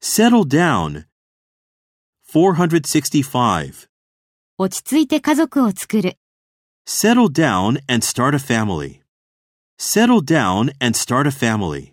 settle down. 465. 落ち着いて家族を作る。 Settle down and start a family. Settle down and start a family.